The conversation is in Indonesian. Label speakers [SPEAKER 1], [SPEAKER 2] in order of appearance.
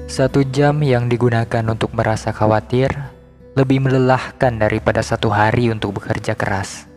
[SPEAKER 1] 1 jam yang digunakan untuk merasa khawatir lebih melelahkan daripada 1 hari untuk bekerja keras.